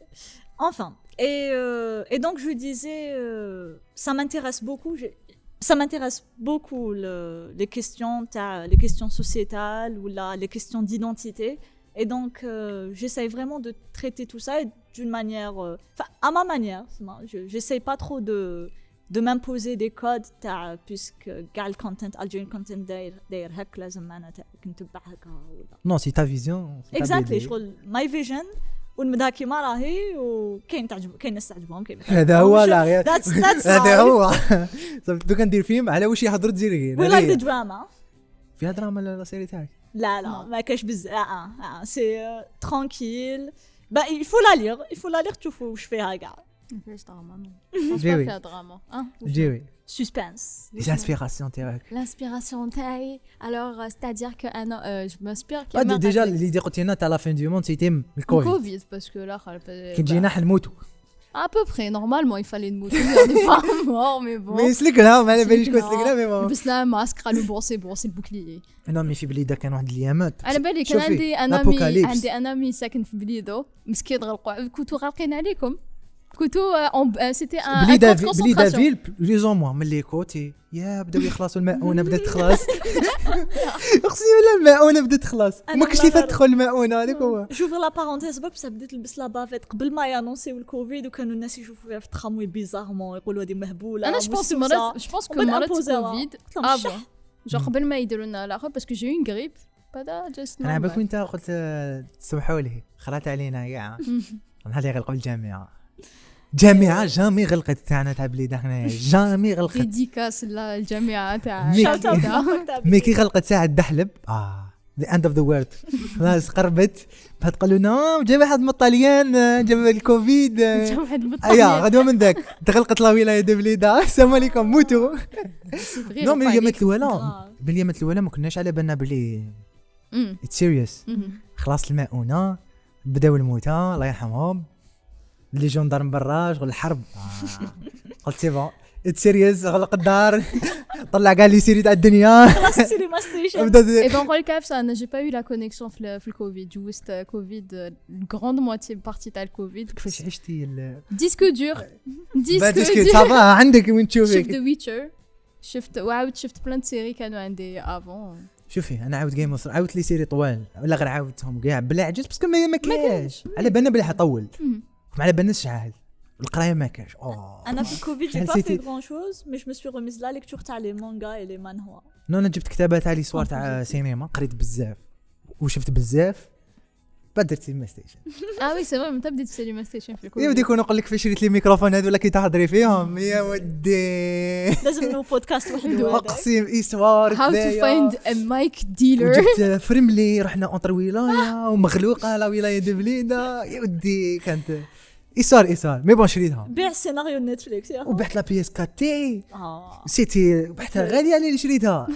enfin et euh, et donc je disais euh, ça m'intéresse beaucoup j'ai- ça m'intéresse beaucoup le- les questions t'as les questions sociétales ou là les questions d'identité et donc euh, j'essaye vraiment de traiter tout ça et d'une manière euh, enfin à ma manière c'est- je j'essaye pas trop de de m'imposer des codes تاع puisque قاع الكونتنت Algerian content داير داير هك لازم انا تاع نتبع هكا ولا نو سي تا فيزيون. اكزاكتلي شغل ماي فيجن والمدا كيما راهي وكاين تعجب كاين ناس تعجبهم كاين هذا هو لا غير. That's- that's هذا life. هو. صافي دوكا ندير فيلم على واش يهضروا الجزائريين. وي لايك ذا دراما فيها دراما لا سيري تاعك. لا لا ما كاش بزاف اه اه سي ترانكيل bah il faut la lire il faut la lire تشوفوا واش فيها كاع فيش دراما نو جيوي فيها دراما اه جيوي suspense les inspirations تاعك l'inspiration تاعي alors euh, c'est-à-dire que انا euh, je m'inspire ah, déjà l'idée قلت لنا تاع لا فين دو موند سيتي الكوفيد الكوفيد parce que là كي تجينا حنموتوا à peu près normalement il fallait nous on n'est pas mort mais bon mais سلكنا ما على باليش كون سلكنا مي بون لبسنا ماسك قالوا بون سي بون سي البوكليي انا مي في بليده كان واحد الايامات على بالي كان عندي انامي عندي انامي ساكن في بليدو مسكين غرقوا كنتو غارقين عليكم كنتو سيتي ان بليده بليده فيل بليزون موا من لي كوتي يا بداو يخلصوا الماءونه بدات تخلص اقسم بالله الماءونه بدات تخلص ما كنتش تدخل الماءونه هذاك هو شوف لا بارونتيز برك بصح بديت نلبس لا بافيت قبل ما يانونسيو الكوفيد وكانوا الناس يشوفوا فيها في التراموي بيزارمون يقولوا هذه مهبوله انا جو بونس مرات جو بونس كو مرات كوفيد افون جو قبل ما يديروا لنا لاخر باسكو جي اون غريب بعدا جست انا عباك وانت قلت تسمحوا لي خلات علينا كاع نهار غلقوا الجامعه جامعه جامي غلقت تاعنا تاع بليده هنايا جامي غلقت ديديكاس للجامعه تاع مي كي غلقت ساعه الدحلب اه ذا اند اوف ذا وورلد خلاص قربت بعد قالوا لنا جا واحد من الطليان جاب الكوفيد جا واحد من الطليان غدوه من ذاك تغلقت لا ولايه ديال بليده السلام عليكم موتوا نو مي اليامات الاولى باليامات الاولى ما كناش على بالنا بلي اتس سيريوس خلاص الماءونه بداو الموتى الله يرحمهم اللي جندرم برا شغل الحرب آه. قلت سي بون اتس سيريوس غلق الدار طلع كاع لي سيري تاع الدنيا خلاص السينما ستيشن اي بون نقول لك عفسه انا جي با يو لا كونيكسيون في في الكوفيد جوست كوفيد الغراند موتي بارتي تاع الكوفيد كيفاش عشتي ديسكو دور ديسكو دور صافا عندك وين تشوفي شفت ذا ويتشر شفت وعاود شفت بلان سيري كانوا عندي افون شوفي انا عاود جيم اوف عاودت لي سيري طوال ولا غير عاودتهم كاع بلا عجز باسكو ما كاينش على بالنا بلي حطول ما على بالناش شحال القرايه ما كاش انا في الكوفيد جي با في غران شوز مي جو مي سوي ريميز لا ليكتور تاع لي مانغا اي لي مانهوا نو انا جبت كتابات تاع لي سوار تاع سينما قريت بزاف وشفت بزاف بعد درت سينما ستيشن اه وي سي فري متى بديت سينما ستيشن في الكوفيد يا ودي كون نقول لك فاش شريت لي ميكروفون هذو ولا كي تهضري فيهم يا ودي لازم نو بودكاست وحده اقسم ايسوار هاو تو فايند ا مايك ديلر جبت فريملي رحنا اونتر ولايه ومغلوقه لا ولايه دي بليده يا ودي كانت ايسار ايسار مي بون شريتها بيع سيناريو نتفليكس يا وبحت لا بي اس كات تي اه سيتي بحتها غاليه على اللي شريتها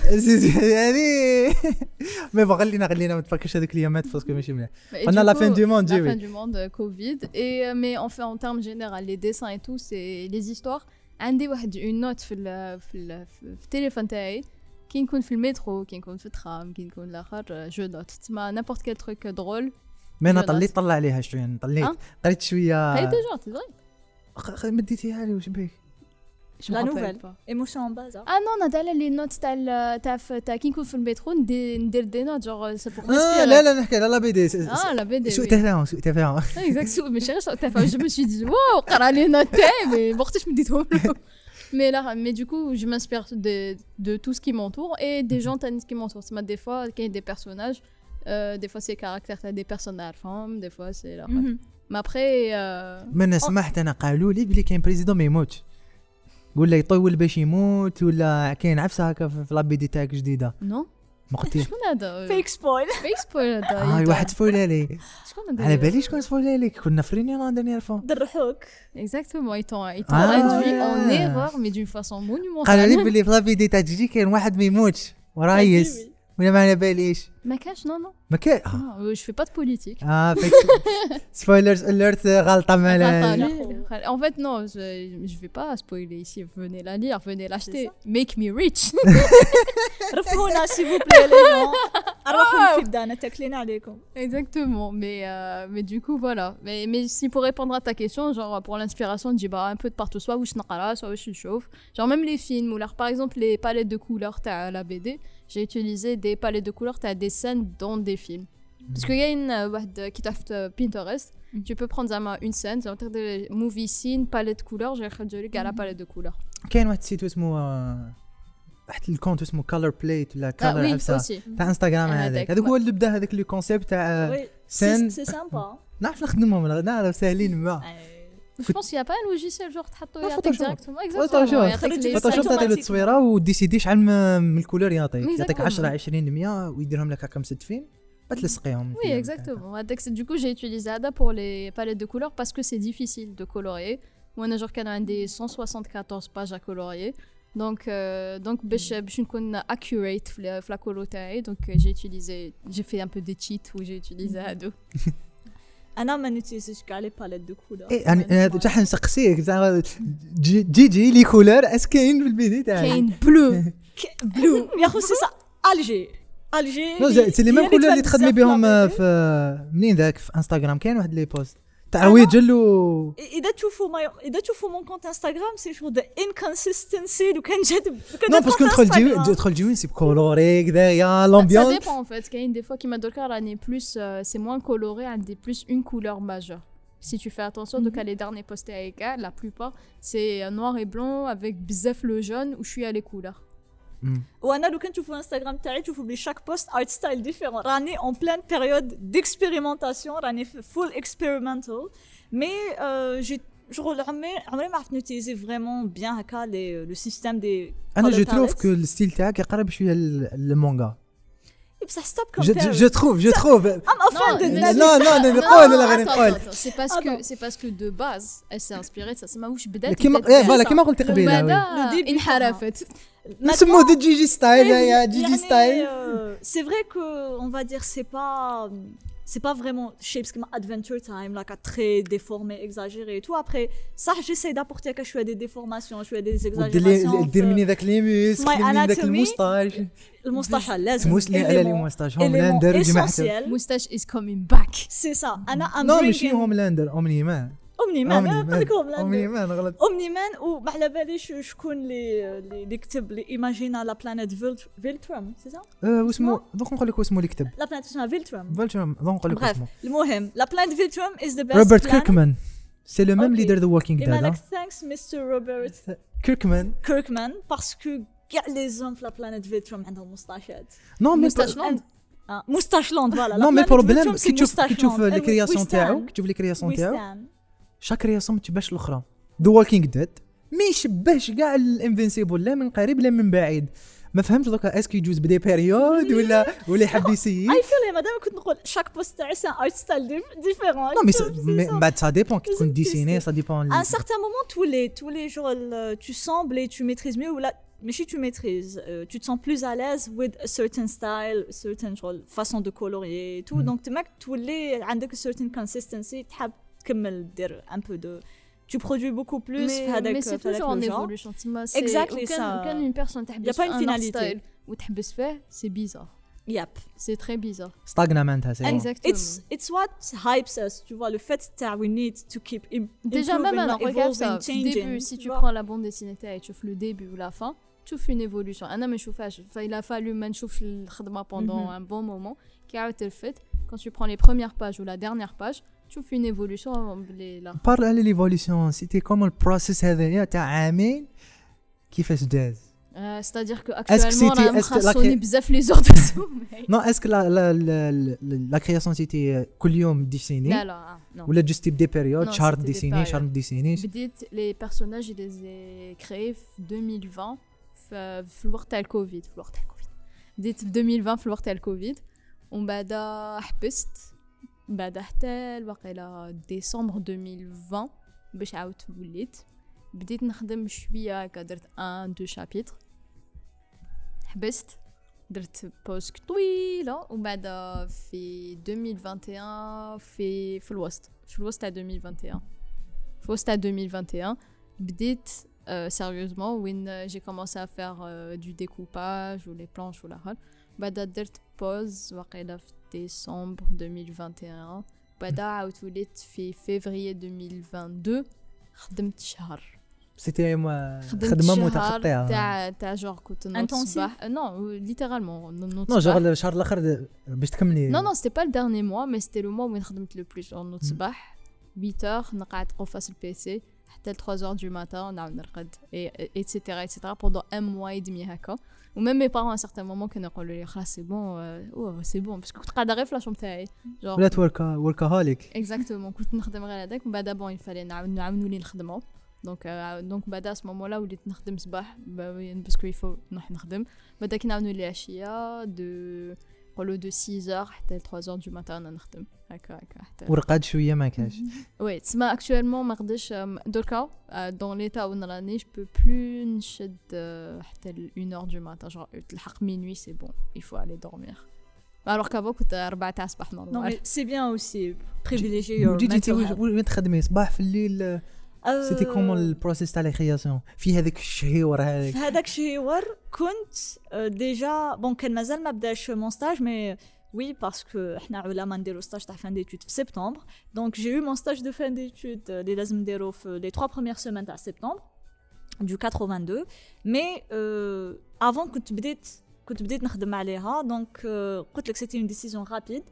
يعني مي بون خلينا خلينا ما تفكرش هذيك الايامات باسكو ماشي مليح قلنا لا فين دو موند جي لا فين دو موند كوفيد اي مي اون في ان تيرم جينيرال لي ديسان اي تو سي لي زيستوار عندي واحد اون نوت في ال في ال في التليفون تاعي كي نكون في المترو كي نكون في الترام كي نكون لاخر جو نوت تسمى نابورت كيل تروك درول مي انا طليت طلع عليها شويه طليت قريت شويه قريت ديجا تي فري مديتيها لي واش بيك لا نوفيل ايموشن باز اه نو انا دايره لي نوت تاع تاع تاع كي نكون في المترو ندير دي نوت جوغ سي بور اه لا لا نحكي على لا بي دي اه لا بي دي سوء تفاهم سوء تفاهم اكزاكت سوء ماشي غير سوء تفاهم جو مي سوي دي واو قرا لي نوت تاعي مي ما وقتاش مديتهم له mais là mais du coup je m'inspire de de tout ce qui m'entoure et des gens qui m'entourent c'est des fois qu'il y a des personnages Euh, des fois c'est caractère t'as des personnages femmes des fois c'est là mm-hmm. mais après euh... من سمعت انا قالوا لي بلي كاين بريزيدون ما يموتش قول لي يطول باش يموت ولا كاين عفسه هكا في لابيدي تاعك جديده نو ما قلتيش شكون هذا فيك سبويل فيك سبويل هذا اه واحد سبويل لي شكون هذا على بالي شكون سبويل لك كنا في رينيون دانيير فوا درحوك exactement ils t'ont ils t'ont induit en erreur mais d'une façon monumentale قالوا لي بلي في لابيدي تاع جيجي كاين واحد ما يموتش ورايس ولا ما على باليش ما كاش نو نو ما كاين جو في با دو بوليتيك اه فيك سبويلرز اليرت غلطه مالا en fait non je je vais pas spoiler ici venez la lire venez l'acheter make me rich رفعونا s'il vous plaît les gens روحوا في بدانا تاكلين عليكم exactement mais euh, mais du coup voilà mais mais si pour répondre à ta question genre pour l'inspiration je dis bah un peu de partout soit واش نقرا soit واش نشوف genre même les films ou là par exemple les palettes de couleurs تاع la B D j'ai utilisé des palettes de couleurs t'as des scènes dans des films parce qu'il y a une واحد كي تحت Pinterest tu peux prendre une scène ça veut dire movie scene palette couleurs j'ai خرجوا لك على palette de couleurs كاين واحد السيت اسمه واحد الكونت اسمه كولر بليت ولا كولر عفسه تاع انستغرام هذاك هذاك هو اللي بدا هذاك لو كونسيبت تاع سين سي سامبا نعرف نخدمهم نعرف ساهلين ما Je pense qu'il n'y a pas un logiciel genre تحطو يعطيك ديريكتومون اكزاكتومون فوتوشوب تعطي له التصويره وديسيدي شحال من الكولور يعطيك يعطيك عشرة عشرين مية ويديرهم لك هكا مستفين بتلصقيهم Oui, exactement. Avec- Du coup, j'ai utilisé Ada pour les palettes de couleurs parce que c'est difficile de colorier. Moi, j'ai genre des cent soixante-quatorze pages à colorier. Donc, euh, donc باش باش نكون accurate في la- في la colo تاعي. Donc, euh, j'ai utilisé, j'ai fait un peu des cheats où j'ai utilisé Ado. انا ما نوتيزيش كاع لي باليت دو كولور ايه انا حتى حنسقسيك زعما جي جي جي لي كولور اس كاين في البيدي تاعي كاين بلو بلو يا خو سي سا الجي الجي نو سي لي ميم كولور اللي تخدمي بهم في منين ذاك في انستغرام كاين واحد لي بوست تاع ويجل و اذا تشوفوا ما اذا تشوفوا مون كونت انستغرام سي شو ذا انكونسيستنسي لو كان جات نو باسكو ندخل جي ندخل جي سي كولوري كذا يا Ça لامبيونس dépend en fait. Il y a une des fois qui m'a donné un est plus, euh, c'est moins coloré, un des plus une couleur majeure. Si tu fais attention, donc à les derniers postés avec elle, la plupart c'est euh, noir et blanc avec bzef le jaune où je suis à les couleurs. وانا لو كان تشوفوا انستغرام تاعي تشوفوا بلي شاك بوست ارت ستايل ديفيرون راني اون بلان بيريود ديكسبيريمونطاسيون راني فول اكسبيريمنتال مي جي شغل عمري عمري ما عرفت نوتيزي فريمون بيان هكا لي لو سيستيم دي انا جو تروف كو الستيل تاعك يقرب شويه للمونغا بصح ستوب جو كومبير جو تروف جو تروف ام اوفندد لا لا لا نقول لا غير نقول C'est parce Ah que non. c'est parce que de base elle s'est inspirée de ça. C'est ma وش بدات. كيما بدات ايه بها. فوالا كيما قلت قبيله وي. وبعدا Le début انحرفت. نسموه دي جي جي ستايل يا جي جي ستايل c'est vrai que on va dire c'est pas c'est pas vraiment shapes comme Adventure Time là très déformé exagéré et tout après ça j'essaie d'apporter quelque chose des déformations je fais des exagérations دير مني ذاك لي ميس My دير مني ذاك anatomy. الموستاج المستشفى لازم تموس لي على لي موستاج هوملاندر وجماعه Moustache is coming back. c'est ça انا I'm نو ماشي bringing هوملاندر اومني مان اومني مان اومني اومني مان غلط اومني مان وما على باليش شكون اللي اللي كتب لي ايماجينا لا بلانيت فيلترم سي سا اه واسمو دوك نقول لك واسمو اللي كتب لا بلانيت اسمها فيلترم فولترم دوك نقول لك Bref, اسمو المهم لا بلانيت فيلترم از ذا بيست روبرت كيركمان سي لو ميم Ok. ليدر ذا ووكينج ايما لك ديد ثانكس مستر روبرت كيركمان كيركمان باسكو كاع لي زوم في لا بلانيت فيلترم عندهم مستاشات نو مي Moustache Land. مستاش لاند فوالا نو مي بروبليم كي تشوف كي تشوف لي كرياسيون تاعو كي تشوف لي كرياسيون تاعو ويستان شاك كرياسيون ما تشبهش الاخرى ذا ووكينج ديد ما يشبهش كاع الانفينسيبل لا من قريب لا من بعيد ما فهمتش دوكا اسكو يجوز بدي بيريود ولا ولا يحب يسيي اي فيل مادام كنت نقول شاك بوست تاعي سان ارت ستايل ديفيرون نو مي من بعد سا ديبون كي تكون ديسيني سا ديبون À un certain moment, tous les, tous les jours, le- tu sembles et tu maîtrises mieux. Ou là, mais si tu maîtrises, euh, tu te sens plus à l'aise with a certain style, a certain genre, façon de colorier et tout. Mhm. Donc, tu mec, tous les, avec a certain consistency, tu as comme un peu de, tu produis beaucoup plus. Mais, avec, mais c'est avec toujours le en genre. évolution. تما c'est- Exactly, وكان- ça. وكان une personne Y a تحبس pas une un art finalité. style وتحبس فيه c'est bizarre. Yep. C'est très bizarre. ستاغنامنت سي Exactement. It's, it's what hypes us, tu vois, le fait que we need to keep im- Déjà, même improving, alors, regarde ça. evolving, Au changing. début, si tu vois. prends la bande dessinée et tu fais le début ou la fin, tu fais une évolution. أنا ما نشوفهاش. Enfin, il a fallu ما نشوف الخدمة pendant Mhm. un bon moment. Qui a été le fait. Quand tu prends les premières pages ou la dernière page, tu fais une évolution. les- là. بارل على ليفوليسيون سيتي كوم البروسيس هذايا تاع عامين كيفاش داز Euh, C'est-à-dire que Est-ce que actuellement, c'était- on a est-ce que la- مخصوني بزاف les heures de sommeil. نو اسكو لا لا لا لا كرياسيون سيتي كل يوم ديسيني لا لا non. ولا جوست تبدي بيريود Non, شهر c'était des ديسيني شهر périodes. ما ديسينيش بديت les personnages je les ai créés في deux mille vingt في في الوقت تاع الكوفيد في الوقت تاع الكوفيد بديت في deux mille vingt في الوقت تاع الكوفيد ومن بعد حبست من بعد حتى الوقيله ديسمبر deux mille vingt باش عاودت وليت بديت نخدم شويه هكا درت un deux chapitres حبست درت بوز طويله ومن بعد في deux mille vingt et un في في الوسط في الوسط تاع deux mille vingt et un في الوسط تاع deux mille vingt et un بديت euh, sérieusement وين euh, j'ai commencé à faire euh, du découpage ou les planches ou la rôle بعد درت بوز وقيله في décembre deux mille vingt et un بعد عاودت وليت في février deux mille vingt-deux خدمت شهر سيتي خدمت خدمه شهر متقطعه تاع تاع جور كنت نوض Intensif. الصباح نو ليترالمون نوض نو الصباح جوغ الشهر الاخر باش تكملي Non, non, c'était pas le dernier mois, mais c'était le mois où j'ai travaillé le plus. En notre صباح huit heures, on a été face au P C, jusqu'à trois heures du matin, on a نرقد, et etc et cetera pendant un mois et demi هكا. Ou même mes parents à un certain moment كانوا يقولوا لي خلاص c'est bon, euh, oh, c'est bon parce que كنت قاعدة غير في لاشوم تاعي. Genre ولات وركا وركاهوليك exactement كنت نخدم غير هذاك ومن بعد bon il fallait نعاود نعاونوا لي نخدموا. دونك دونك بعد à ce moment-là وليت نخدم صباح باسكو il faut نروح نخدم. بعد كي نعاونوا لي عشية de نقولوا دو six heures حتى trois heures du matin انا نخدم هكا هكا حتى ورقاد شويه ما كاش. وي تسمى اكطوالمون ما نقدرش دركا دون ليتا وين راني جو بو بلو نشد حتى une heure du matin genre تلحق minuit c'est bon il faut aller dormir alors qu'avant كنت أربعة تاع الصباح Non, نورمال. mais c'est bien aussi privilégier your وجيتي mental health. وين تخدمي صباح في الليل؟ Euh, سيتي كومون البروسيس تاع الكرياسيون في هذاك الشهيور هذاك؟ في هذاك الشهور كنت ديجا بون كان مازال ما بداش مون ستاج مي وي باسكو حنا علماء نديرو ستاج تاع فان ديتود في سبتمبر دونك جي يو مون ستاج دو فان ديتود اللي لازم نديرو في لي trois premières semaines تاع سبتمبر du quatre-vingt-deux مي افون كنت بديت كنت بديت نخدم عليها دونك قلت لك سيتي اون ديسيزيون رابيد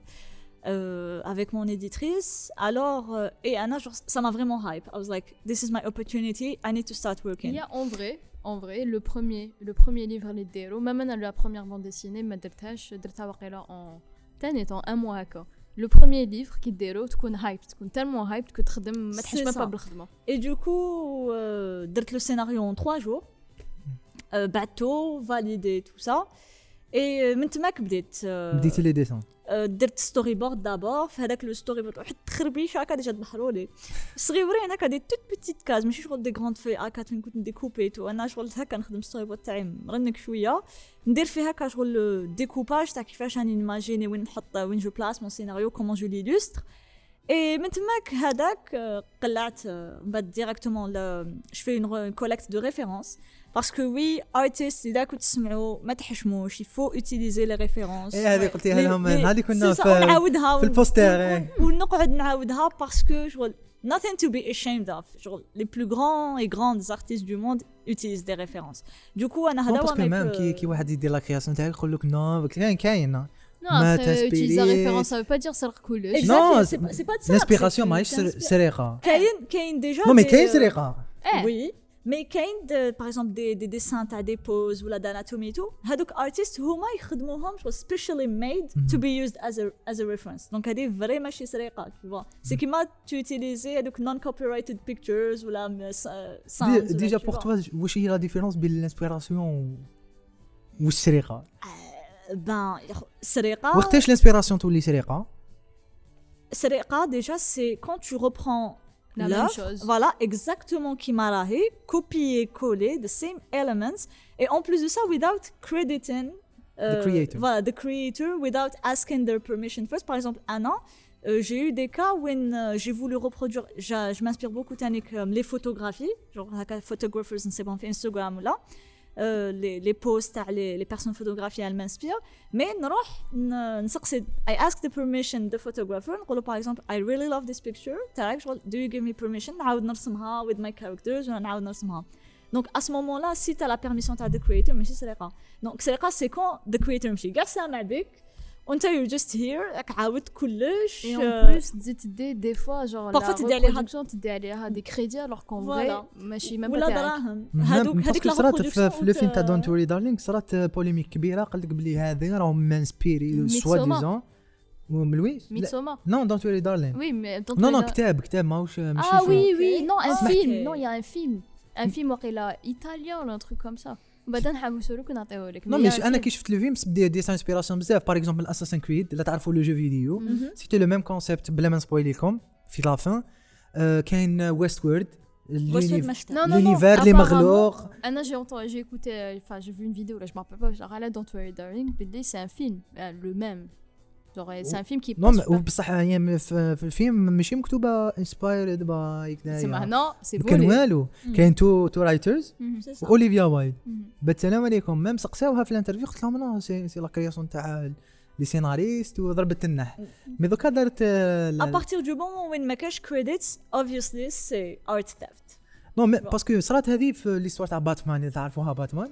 Euh, avec mon éditrice alors euh, et Anna genre, ça m'a vraiment hype. I was like this is my opportunity, I need to start working. Il y a en vrai en vrai le premier le premier livre اللي ديرو même انا la première bande dessinée ما درتهاش درتها واقيلا en تاني en un mois هكا. le premier livre كي ديرو تكون hype تكون tellement hype que تخدم ما تحسش ما بالخدمه. et du coup euh, درت le scénario en trois jours euh, بعتو validé tout ça et من تماك بديت euh, بديتي لي ديسون؟ درت ستوري بورد دابور في هذاك لو ستوري بورد واحد تخربيش هكا ديجا ظهروا لي صغيورين هكا دي توت بيتيت كاز ماشي شغل دي غروند في هكا فين كنت ديكوبيتو انا شغل هكا نخدم ستوري بورد تاعي مرنك شويه ندير فيه هكا شغل ديكوباج تاع كيفاش راني نيماجيني وين نحط وين جو بلاس مون سيناريو كومون جو ليلوستر اي من تماك هذاك قلعت من بعد ديريكتومون جو في اون كوليكت دو ريفيرونس باسكو وي ارتست اذا كنت تسمعوا ما تحشموش يفو اوتيليزي لي ريفيرونس. اي هذه قلتيها لهم هذه كنا في نعاودها في البوستر ونقعد نعاودها باسكو شغل nothing to be ashamed of genre les plus grands et grandes artistes du monde utilisent des références du coup انا هذا هو ميم كي كي واحد يدير لا كرياسيون تاعك يقول لك نو كاين كاين Non, après, utiliser la référence, ça veut pas dire سرق كلش. Non, c'est pas, c'est pas de ça. L'inspiration ماهيش سرقة. كاين كاين déjà. Non, mais كاين سرقة. Oui. Mais كاين par exemple des des dessins تاع des poses ولا d'anatomie tout. هذوك artistes هما يخدموهم specially made to be used as a as a reference. Donc هذه فري ماشي سرقة, tu vois. C'est كيما tu utiliser هذوك non copyrighted pictures ولا sounds. Déjà pour toi, واش هي la différence بين l'inspiration والسرقة؟ Ben, سرقة. وقتاش l'inspiration تولي سرقة؟ سرقة déjà c'est quand tu reprends la même chose. Voilà, exactement كيما راهي, copier coller the same elements et en plus de ça without crediting uh, the creator. Voilà, the creator without asking their permission first. Par exemple, Anna, euh, j'ai eu des cas où euh, j'ai voulu reproduire, je m'inspire beaucoup avec euh, les photographies, genre photographers on sait pas sur Instagram ou là. Euh, les, les posts les, les personnes photographiées elles m'inspirent mais نروح نسقسي I ask the permission the photographer نقول par exemple I really love this picture تاعك do you give me permission نعاود نرسمها with my characters ولا نعاود نرسمها donc à ce moment là si tu as la permission تاع the creator ماشي سرقة donc سرقة c'est quand the creator ماشي كاع سامع بك وانت you're just here راك عاودت كلش et en plus تزيد تدي des fois genre parfois تدي عليها تدي عليها des crédits alors qu'en vrai ماشي ما ولا دراهم هذوك هذيك لا صرات في لو فيلم تاع دونت وري دارلينغ صرات بوليميك كبيره قال لك بلي هذه راهم مانسبيري سوا ديزون وملوي ميتسوما نو دونت وري دارلينغ وي مي نو نو كتاب كتاب ماهوش ماشي اه وي وي نو ان فيلم نو يا ان فيلم ان فيلم واقيلا ايطاليان ولا ان تروك كوم سا بعدا نحوسوا لك ونعطيوه لك. نو ماشي انا كي شفت لو فيلم بدي دي انسبيراسيون بزاف باغ اكزومبل اساسن كريد لا تعرفوا لو جو فيديو سيتي لو ميم كونسيبت بلا ما نسبويل لكم في لا فان كاين ويست وورد l'univers les مغلوق. انا j'ai entendu j'ai écouté enfin j'ai vu une vidéo là je me rappelle pas genre là Don't Worry Darling c'est un film le même genre c'est un film qui non بصح هي في الفيلم ماشي مكتوبه inspired by كذا سمع نو سي كان والو كاين تو تو رايترز اوليفيا وايلد السلام عليكم ميم سقساوها في الانترفيو قلت لهم انا سي سي لا كرياسيون تاع لي سيناريست وضربت النح مي دوكا دارت ا بارتير دو بون وين ما كاش كريديتس اوبفيسلي سي ارت ثيفت نو مي باسكو صرات هذه في ليستوار تاع باتمان اللي تعرفوها باتمان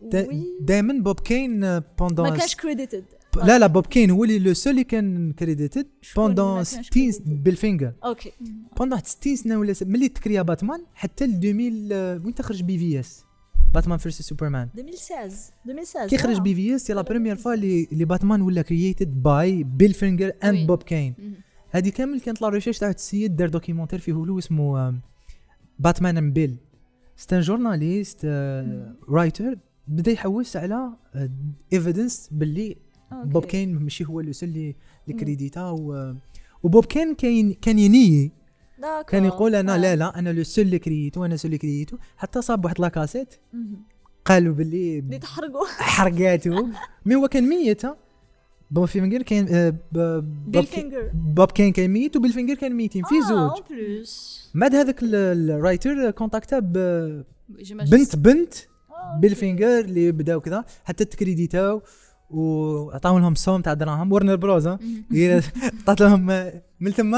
دائما بوب كين بوندون ما كاش كريديتد لا لا بوب كين هو اللي لو سول اللي كان كريديتد بوندون ستين بالفينجر اوكي بوندون ستين سنه ولا ملي تكريا باتمان حتى ل ألفين وين تخرج بي في اس باتمان فيرس سوبرمان ألفين وستة عشر ألفين وستة عشر كي خرج بي في اس سي لا بريمير فوا اللي اللي باتمان ولا كرييتد باي بيل فينجر اند بوب كين هذه كامل كانت لا ريشيرش تاع السيد دار دوكيومونتير فيه هو اسمه باتمان اند بيل ستان جورناليست رايتر بدا يحوس على ايفيدنس باللي أوكي. بوب كين ماشي هو لو سول اللي اللي كريديتا و... وبوب كين كاين كان ينيي داكور. كان يقول انا آه. لا لا انا لو سول اللي كرييتو انا سول اللي كرييتو حتى صاب واحد لاكاسيت مهم. قالوا باللي اللي تحرقوا حرقاتو مي هو كان ميت ها بوب فينجر كان آه، ب- بوب كي- بالفينجر بوب كين كان ميت وبالفينجر كان ميتين في اه زوج اون بلوس بعد هذاك ال- الرايتر كونتاكتا ب- J'imagine بنت بنت آه، بالفينجر اللي بداو كذا حتى تكريديتاو وعطاو لهم صوم تاع دراهم ورنر بروز ها هي عطات لهم من ثم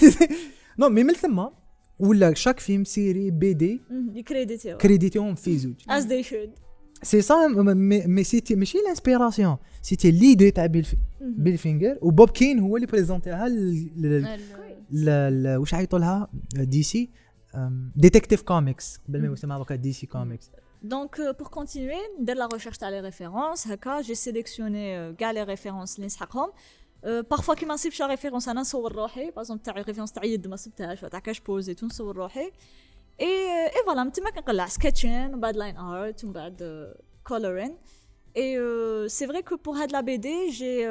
نو مي من ثم ولا شاك فيلم سيري بي دي مهم. يكريديتيو كريديتيهم في زوج as they should. سي سا مي سيتي ماشي لانسبيراسيون سيتي ليدي تاع بالف- مهم. بالفينجر وبوب كين هو اللي بريزونتيها ل- ل- ال- ل- ل- واش عيطوا لها دي سي ديتكتيف كوميكس قبل ما يسمى هكا دي سي كوميكس. Donc, euh, pour continuer, dès la recherche dans les références, haka, j'ai sélectionné euh, gars les références اللي نسحقهم. Euh, parfois كي ما نصيبش référence انا نصور روحي باغ اكزومبل تاع référence تاع يد ما صبتهاش تاع كاش بوزيت ونصور روحي اي اي فوالا من تما كنقلع سكتشين ومن بعد لاين ارت ومن بعد كولورين اي سي فري كو بور هاد لا بي دي جي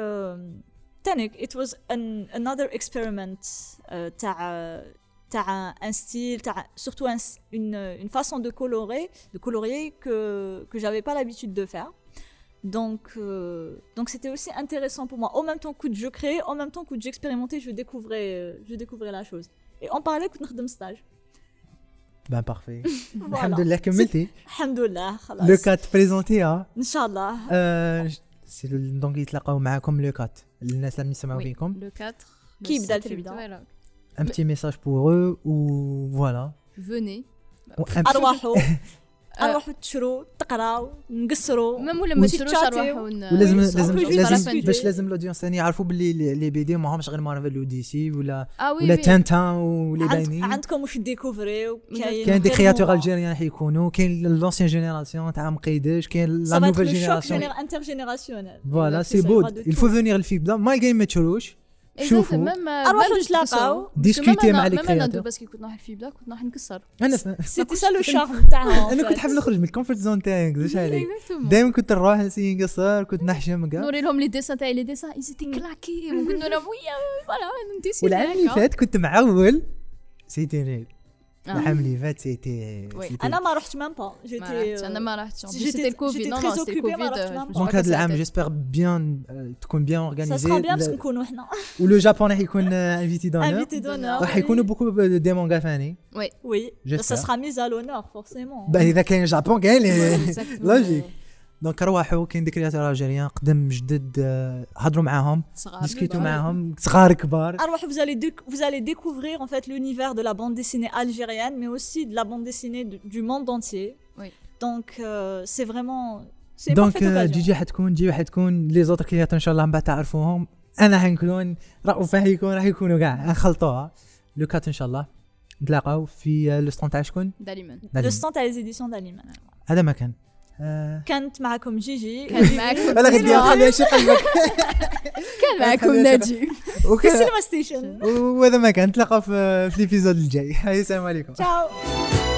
تانيك it was an, another experiment euh, تاع تاع un style تاع surtout un, une une façon de colorer de colorier que que j'avais pas l'habitude de faire. Donc, euh, donc c'était aussi intéressant pour moi. En même temps que je créais, en même temps que j'expérimentais, je découvrais, euh, je découvrais la chose. Et on parlait que nous stage. Ben parfait. Voilà. Alhamdoulilah كملتي. Alhamdoulilah, خلاص. لو كات بريزونتي ها. إن شاء الله. سي دونك يتلاقاو معاكم لو كات الناس اللي يسمعوا Oui, فيكم. le quatre. Qui le بدأ sept, الفيلم le ده؟ huit, voilà. Un petit message pour eux ou voilà. Venez. أرواحوا أرواحوا تشروا تقراوا نقصروا. même ولا ما تشروش أرواحوا ولازم oui, لازم on peut juste لازم discuter. باش لازم الاودينس ثاني يعرفوا باللي لي بي دي ماهمش غير مارفل ودي سي ولا ah oui ولا oui. تانتان ولي عند- باينين. عندكم واش ديكوفريو كاين دي كرياتور الجيريان حيكونوا كاين لونسيان جينيراسيون تاع مقيدش كاين لا نوفيل جينيراسيون. intergénérationnel. فوالا سي بود il faut venir الفيلم ده ما الجاي ما تشروش شوفوا أرواحوا نتلاقاو. ديسكوتي مع لي كرياتور كرياتور. بس كي كنت نروح الفيلم ده كنت نروح نكسر انا سيتي سا لو شارم تاعهم. انا كنت حاب نخرج من الكومفورت زون تاعي واش عليك دائما كنت نروح نسي نقصر كنت نحشم كاع. نوري لهم لي ديسان تاعي لي ديسان اي سيتي كلاكي وكنت لهم ويا فوالا نديسي والعام اللي فات كنت معول سيتي ريل آه. العام اللي فات سيتي وي. سيتي- أنا ما رحت ميم با. ما جيتي رحتش انا ما رحتش J'étais- سيتي الكوفيد j'étais نو très نو سيتي occupée, ما الكوفيد رحتش معاهم. دونك هذا العام جيسبر بيان تكون بيان اورغانيزي ça sera bien parce نكونوا حنا ولو جابون راح يكون انفيتي دونور invités d'honneur. راح يكونوا بوكو دي مونغا فاني. Oui, J'espère. ça sera mis à l'honneur forcément. bah اذا كاين جابون كاين Exactement. لوجيك. دونك روحوا كاين دي كرياتور الجيريان قدم جدد آه، هضروا معاهم صغار ديسكوتوا معاهم صغار كبار. Alors vous allez déc- vous allez découvrir en fait l'univers de la bande dessinée algérienne mais aussi de la bande dessinée du, du monde entier. Oui. Donc euh, c'est vraiment c'est une دونك parfaite آه، occasion. جيجي حتكون جي حتكون لي زوتر كرياتور ان شاء الله من بعد تعرفوهم. انا حنكون رؤوف حيكون راح يكونوا كاع نخلطوها لو كات ان شاء الله نتلاقاو في آه، لو ستون تاع شكون داليمان Le stand à les éditions d'Aliman. هذا مكان. آه، كانت معكم جيجي. كان معكم ولا غدي خليها شي قلبك كان معكم ناجي في وك- السينما ستيشن. وهذا مكان نتلاقاو في في ليبيزود الجاي. السلام عليكم. Ciao.